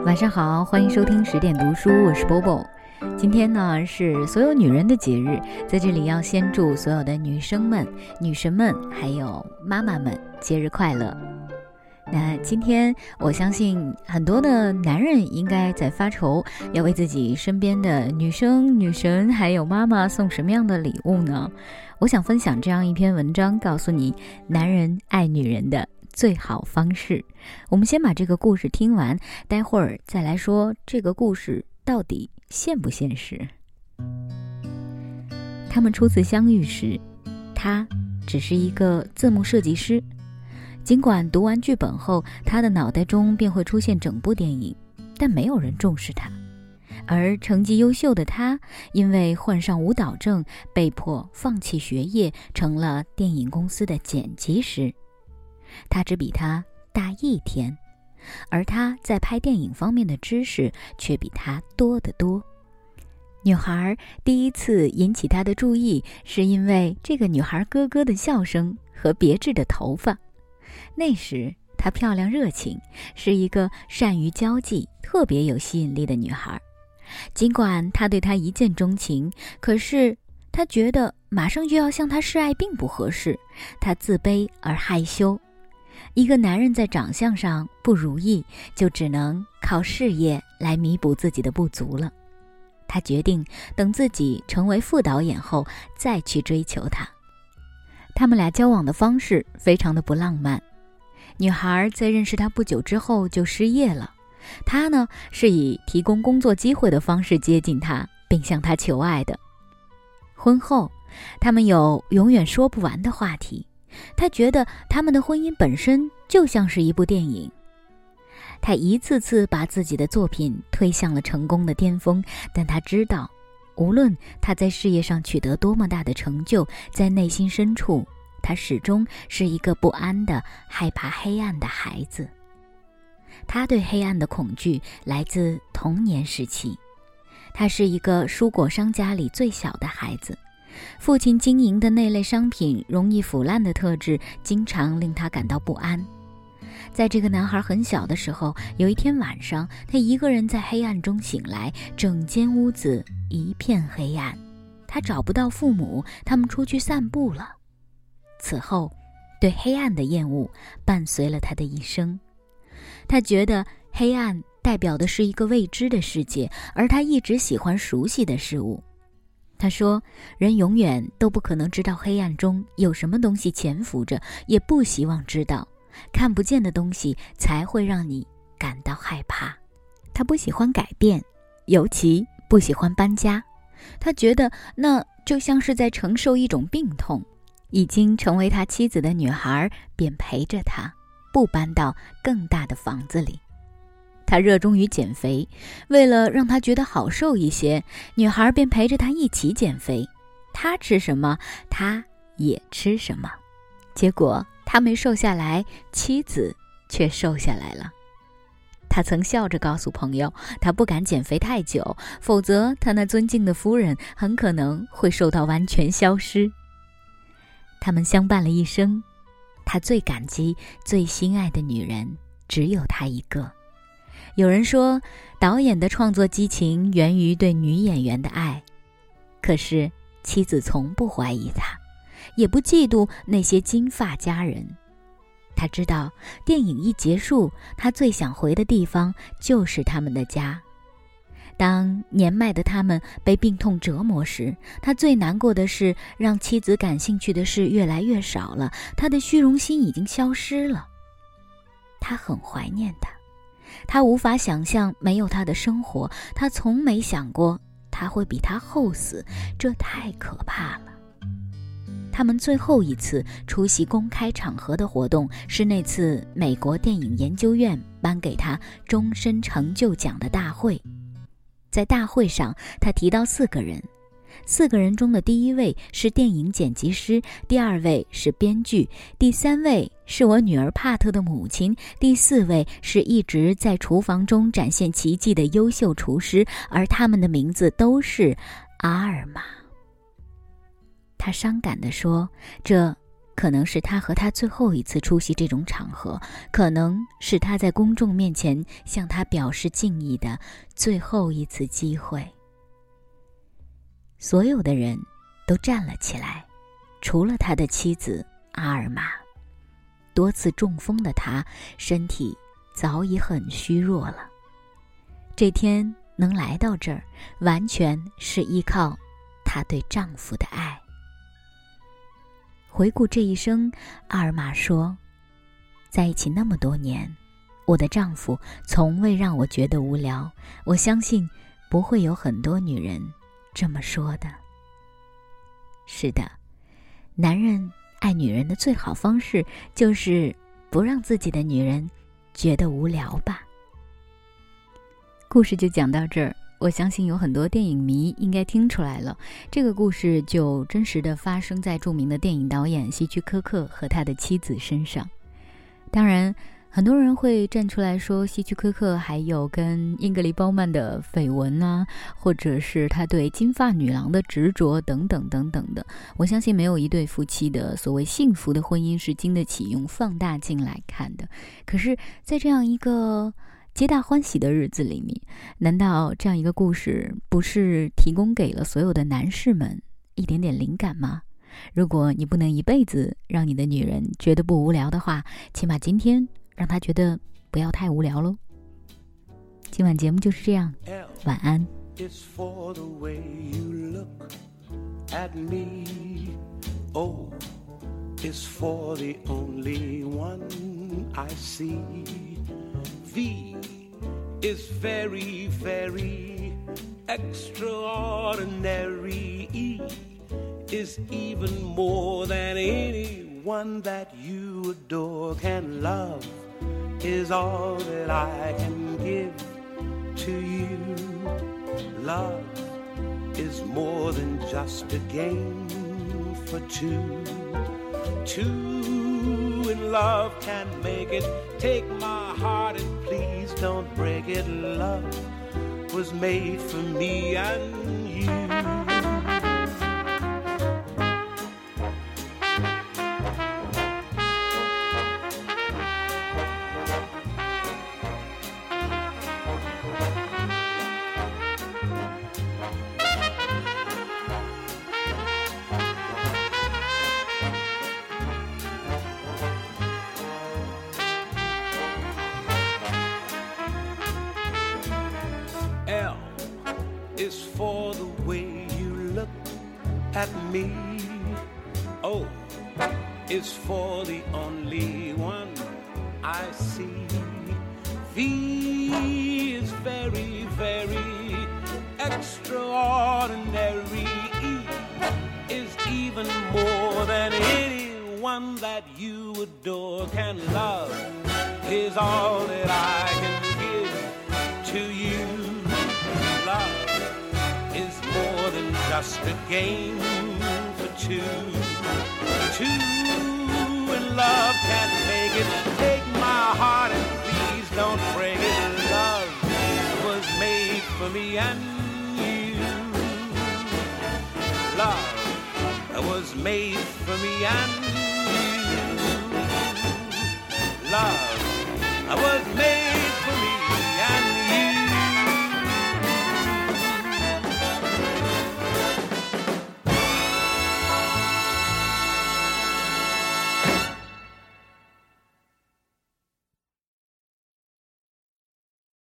晚上好，欢迎收听10点读书，我是 Bobo。今天呢是所有女人的节日，在这里要先祝所有的女生们、女神们还有妈妈们节日快乐。那今天我相信很多的男人应该在发愁，要为自己身边的女生、女神还有妈妈送什么样的礼物呢？我想分享这样一篇文章，告诉你男人爱女人的最好方式。我们先把这个故事听完，待会儿再来说这个故事到底现不现实。他们初次相遇时，他只是一个字幕设计师，尽管读完剧本后，他的脑袋中便会出现整部电影，但没有人重视他。而成绩优秀的他，因为患上舞蹈症，被迫放弃学业，成了电影公司的剪辑师。他只比他大1天，而他在拍电影方面的知识却比他多得多。女孩第一次引起他的注意，是因为这个女孩咯咯的笑声和别致的头发。那时她漂亮热情，是一个善于交际、特别有吸引力的女孩。尽管他对她一见钟情，可是他觉得马上就要向她示爱并不合适，他自卑而害羞。一个男人在长相上不如意，就只能靠事业来弥补自己的不足了。他决定等自己成为副导演后再去追求她。他们俩交往的方式非常的不浪漫。女孩在认识他不久之后就失业了，他呢是以提供工作机会的方式接近他，并向他求爱的。婚后，他们有永远说不完的话题。他觉得他们的婚姻本身就像是一部电影。他一次次把自己的作品推向了成功的巅峰，但他知道，无论他在事业上取得多么大的成就，在内心深处，他始终是一个不安的、害怕黑暗的孩子。他对黑暗的恐惧来自童年时期。他是一个蔬果商家里最小的孩子，父亲经营的那类商品容易腐烂的特质经常令他感到不安。在这个男孩很小的时候，有一天晚上，他一个人在黑暗中醒来，整间屋子一片黑暗。他找不到父母，他们出去散步了。此后，对黑暗的厌恶伴随了他的一生。他觉得黑暗代表的是一个未知的世界，而他一直喜欢熟悉的事物。他说，人永远都不可能知道黑暗中有什么东西潜伏着，也不希望知道。看不见的东西才会让你感到害怕。他不喜欢改变，尤其不喜欢搬家。他觉得那就像是在承受一种病痛。已经成为他妻子的女孩便陪着他，不搬到更大的房子里。他热衷于减肥，为了让他觉得好受一些，女孩便陪着他一起减肥。他吃什么，他也吃什么。结果他没瘦下来，妻子却瘦下来了。他曾笑着告诉朋友，他不敢减肥太久，否则他那尊敬的夫人很可能会瘦到完全消失。他们相伴了一生，他最感激、最心爱的女人只有他一个。有人说，导演的创作激情源于对女演员的爱，可是妻子从不怀疑他，也不嫉妒那些金发佳人。他知道，电影一结束，他最想回的地方就是他们的家。当年迈的他们被病痛折磨时，他最难过的是让妻子感兴趣的事越来越少了，他的虚荣心已经消失了。他很怀念他，他无法想象没有他的生活，他从没想过他会比他后死，这太可怕了。他们最后一次出席公开场合的活动是那次美国电影研究院颁给他终身成就奖的大会。在大会上，他提到4个人，4个人中的第1位是电影剪辑师，第2位是编剧，第3位是我女儿帕特的母亲，第4位是一直在厨房中展现奇迹的优秀厨师，而他们的名字都是阿尔玛。他伤感地说，这可能是他和他最后一次出席这种场合，可能是他在公众面前向他表示敬意的最后一次机会。所有的人都站了起来，除了他的妻子阿尔玛。多次中风的他，身体早已很虚弱了。这天能来到这儿，完全是依靠她对丈夫的爱。回顾这一生，阿尔玛说，在一起那么多年，我的丈夫从未让我觉得无聊，我相信不会有很多女人这么说的。是的，男人爱女人的最好方式就是不让自己的女人觉得无聊吧。故事就讲到这儿，我相信有很多电影迷应该听出来了，这个故事就真实的发生在著名的电影导演希区柯克和他的妻子身上。当然很多人会站出来说希区柯克还有跟英格丽褒曼的绯闻啊，或者是他对金发女郎的执着等等等等的。我相信没有一对夫妻的所谓幸福的婚姻是经得起用放大镜来看的。可是在这样一个皆大欢喜的日子里面，难道这样一个故事不是提供给了所有的男士们一点点灵感吗？如果你不能一辈子让你的女人觉得不无聊的话，起码今天让她觉得不要太无聊咯。今晚节目就是这样，晚安。 It's for the way you look at me. Oh, it's for the only one I see. V is very, very extraordinary. E is even more than anyone that you adore can love. Is all that I can give to you. Love is more than just a game for two. Two in love can make it. Take my heart and please don't break it. Love was made for me and you. L is for the way you look at me. O is for the only one I see. V is very, very extraordinary. E is even more than anyone that you adore can love. Is all that I can give to you. Love is more than just a game for two. Two in love can make it. Take my heart and please don't break it. Love was made for me and you. Love was made for me and you. Love was made